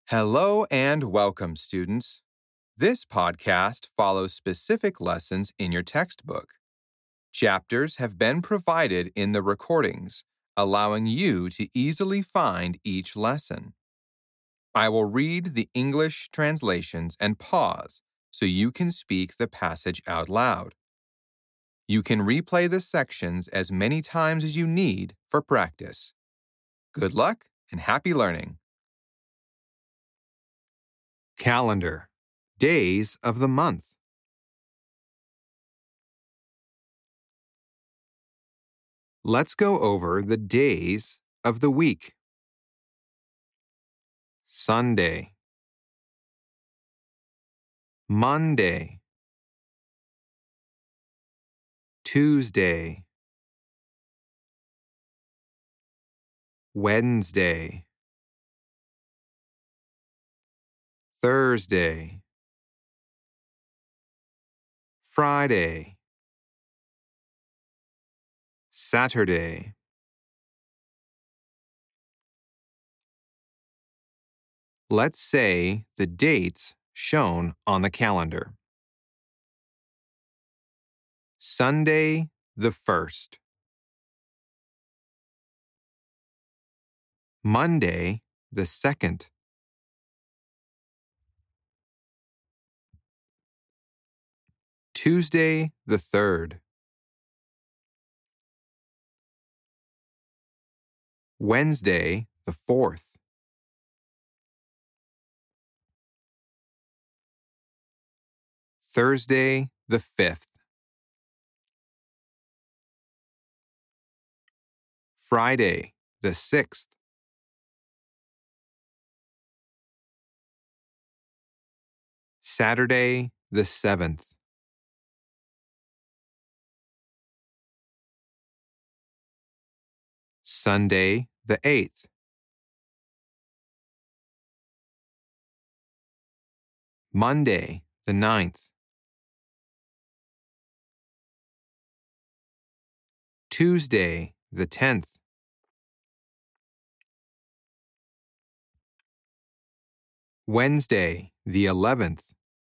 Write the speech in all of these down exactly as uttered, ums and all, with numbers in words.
Hello and welcome, students. This podcast follows specific lessons in your textbook. Chapters have been provided in the recordings, allowing you to easily find each lesson. I will read the English translations and pause so you can speak the passage out loud. You can replay the sections as many times as you need for practice. Good luck and happy learning. Calendar. Days of the month. Let's go over the days of the week. Sunday, Monday, Tuesday, Wednesday, Thursday, Friday, Saturday. Let's say the dates shown on the calendar. Sunday the first. Monday the second. Tuesday the third. Wednesday the fourth. Thursday the fifth. Friday the sixth. Saturday the seventh. Sunday the eighth. Monday the ninth. Tuesday the tenth. Wednesday the eleventh.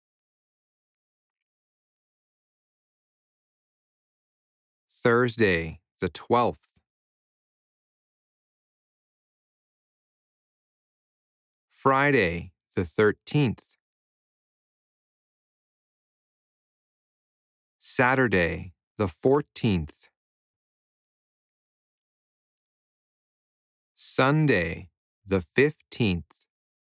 Thursday the twelfth. Friday the thirteenth. Saturday the fourteenth. Sunday the fifteenth.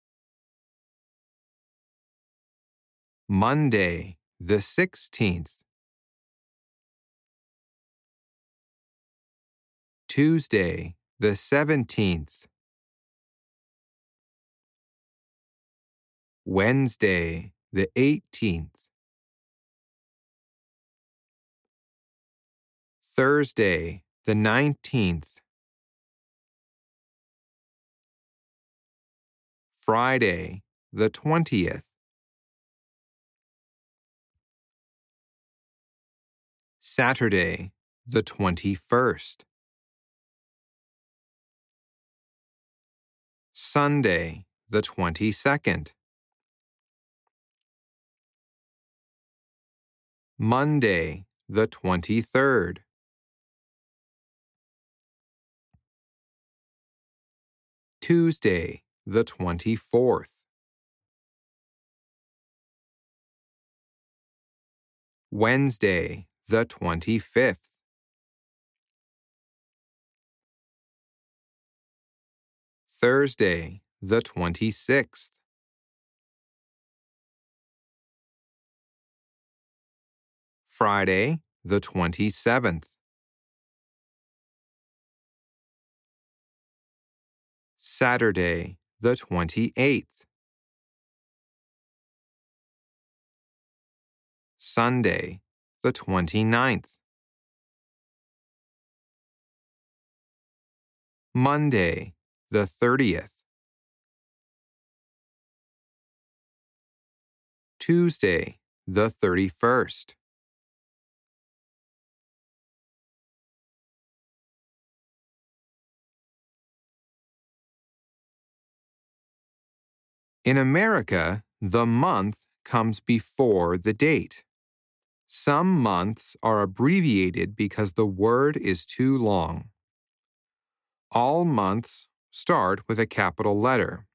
Monday the sixteenth. Tuesday the seventeenth. Wednesday the eighteenth. Thursday the nineteenth. Friday the twentieth. Saturday the twenty-first. Sunday the twenty-second. Monday the twenty-third. Tuesday the twenty-fourth. Wednesday the twenty-fifth. Thursday the twenty-sixth. Friday the twenty-seventh. Saturday the twenty-eighth. Sunday the twenty-ninth. Monday the thirtieth. Tuesday the thirty-first. In America, the month comes before the date. Some months are abbreviated because the word is too long. All months start with a capital letter.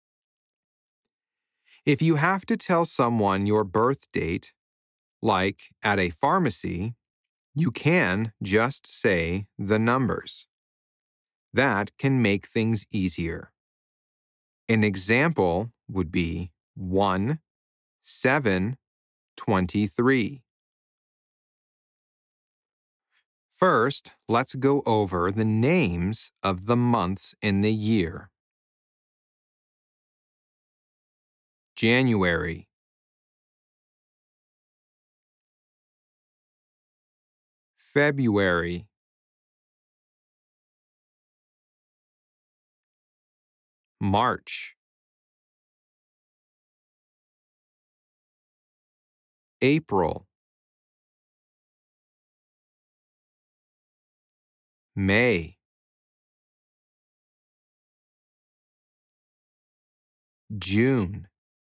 If you have to tell someone your birth date, like at a pharmacy, you can just say the numbers. That can make things easier. An example would be one seven twenty-three. First, let's go over the names of the months in the year. January, February, March, April, May, June,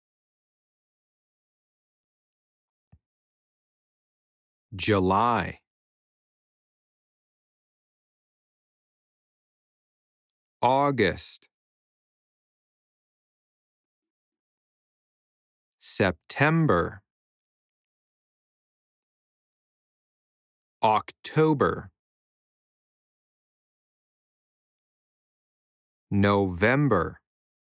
July, August, September, October, November,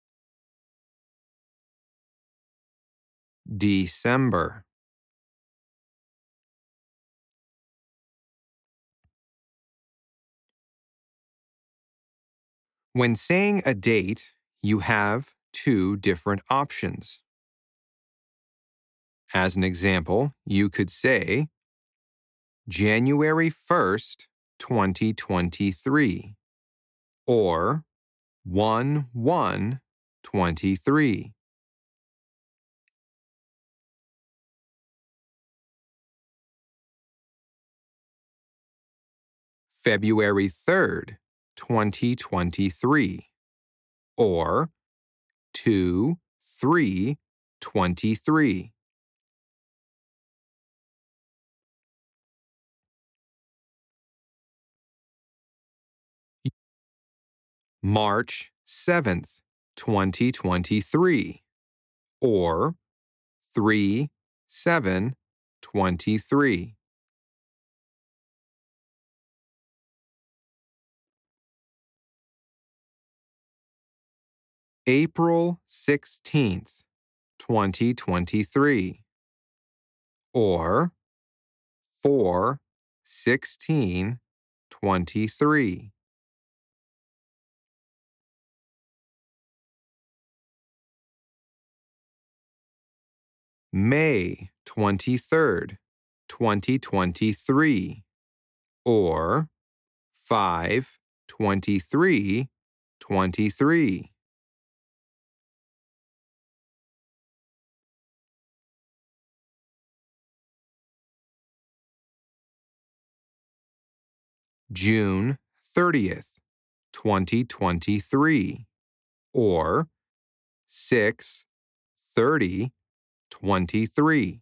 December. When saying a date, you have two different options. As an example, you could say January first, twenty twenty-three, or one one twenty-three. February third, twenty twenty-three, or two three twenty-three. March seventh, twenty twenty-three, or three seven twenty-three. April sixteenth, twenty twenty-three, or four sixteen twenty-three. May twenty-third, twenty twenty-three, or five twenty-three twenty-three. June thirtieth, twenty twenty-three, or six thirty twenty-three.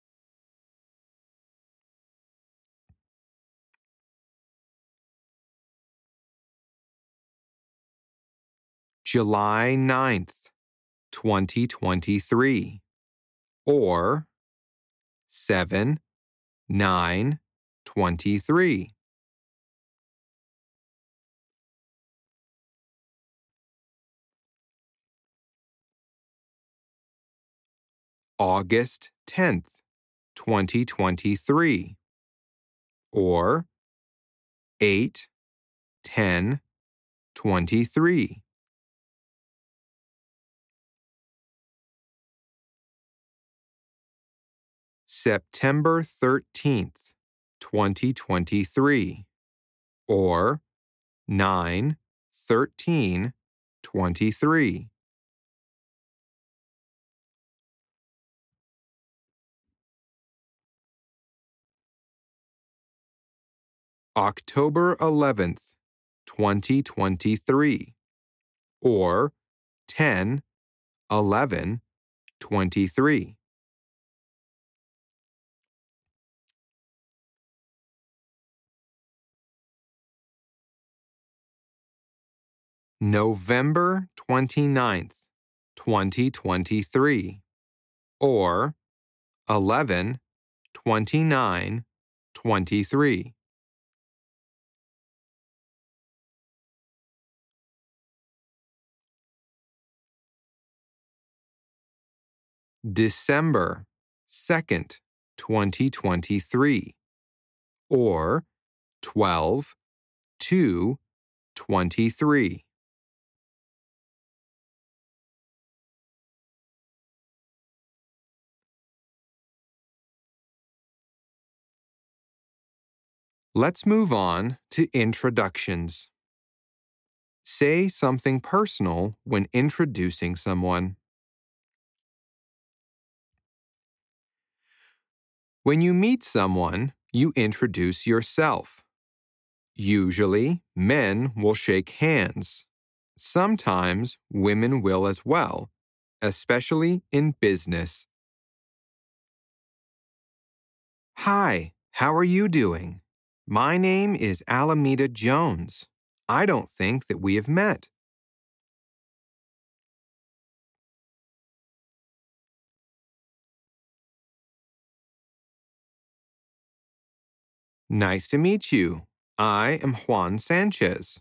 July ninth, twenty twenty-three, or seven nine twenty-three. August tenth, twenty twenty-three, or eight ten twenty-three. September thirteenth, twenty twenty-three, or nine thirteen twenty-three. October eleventh, twenty twenty-three, or ten eleven, twenty-three. November twenty-ninth, twenty twenty-three, or eleven, twenty-nine, twenty-three. December second, twenty twenty-three, or twelve, two, twenty-three. Let's move on to introductions. Say something personal when introducing someone. When you meet someone, you introduce yourself. Usually, men will shake hands. Sometimes women will as well, especially in business. Hi, how are you doing? My name is Alameda Jones. I don't think that we have met. Nice to meet you. I am Juan Sanchez.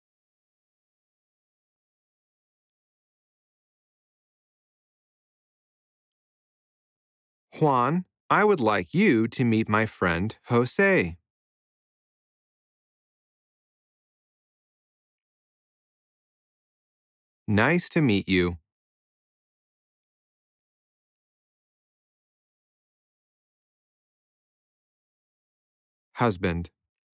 Juan, I would like you to meet my friend Jose. Nice to meet you. Husband.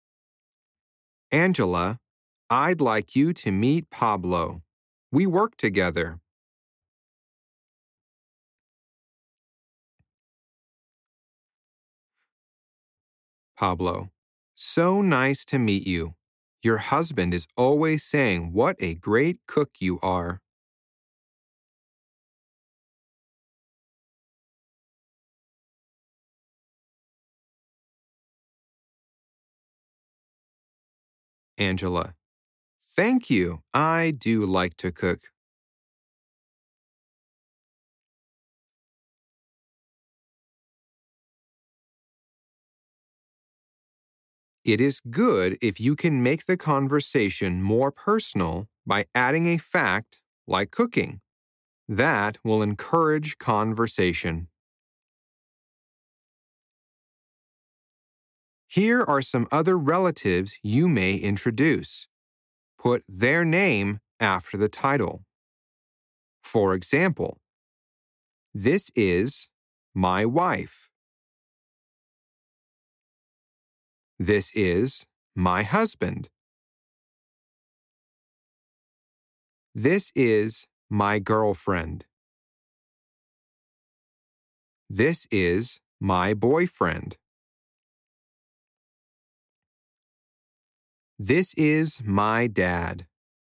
Angela, I'd like you to meet Pablo. We work together. Pablo, so nice to meet you. Your husband is always saying what a great cook you are. Angela, thank you. I do like to cook. It is good if you can make the conversation more personal by adding a fact like cooking. That will encourage conversation. Here are some other relatives you may introduce. Put their name after the title. For example, this is my wife. This is my husband. This is my girlfriend. This is my boyfriend. This is my dad.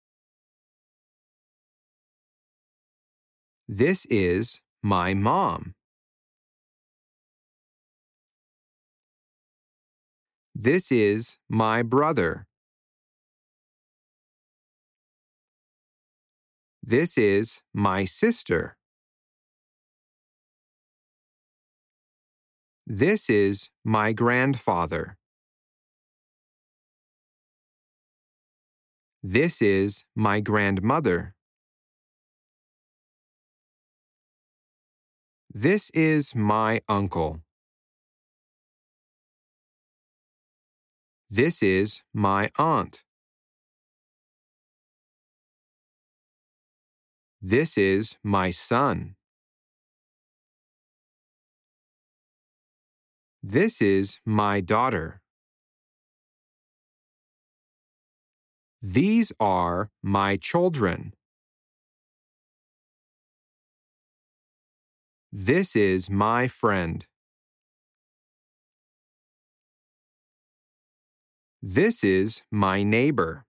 This is my mom. This is my brother. This is my sister. This is my grandfather. This is my grandmother. This is my uncle. This is my aunt. This is my son. This is my daughter. These are my children. This is my friend. This is my neighbor.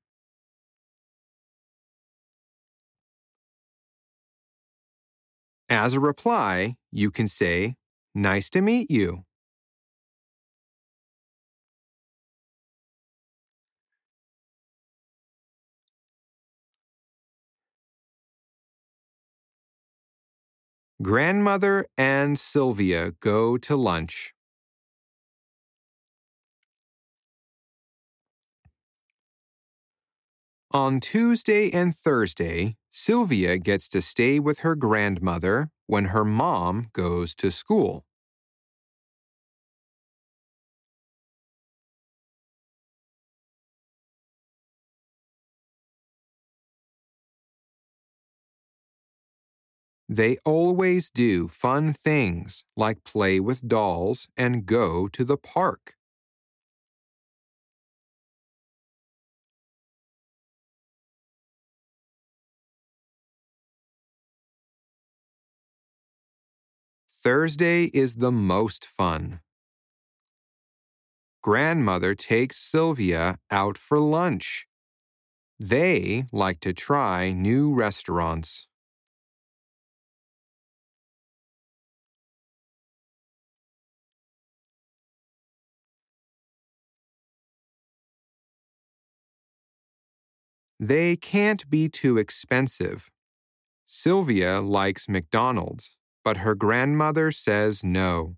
As a reply, you can say, "Nice to meet you." Grandmother and Sylvia go to lunch. On Tuesday and Thursday, Sylvia gets to stay with her grandmother when her mom goes to school. They always do fun things like play with dolls and go to the park. Thursday is the most fun. Grandmother takes Sylvia out for lunch. They like to try new restaurants. They can't be too expensive. Sylvia likes McDonald's, but her grandmother says no.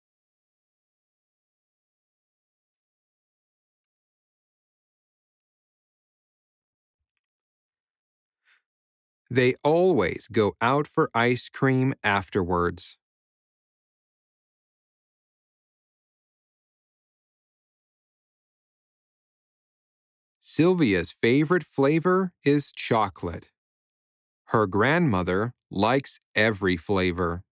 They always go out for ice cream afterwards. Sylvia's favorite flavor is chocolate. Her grandmother likes every flavor.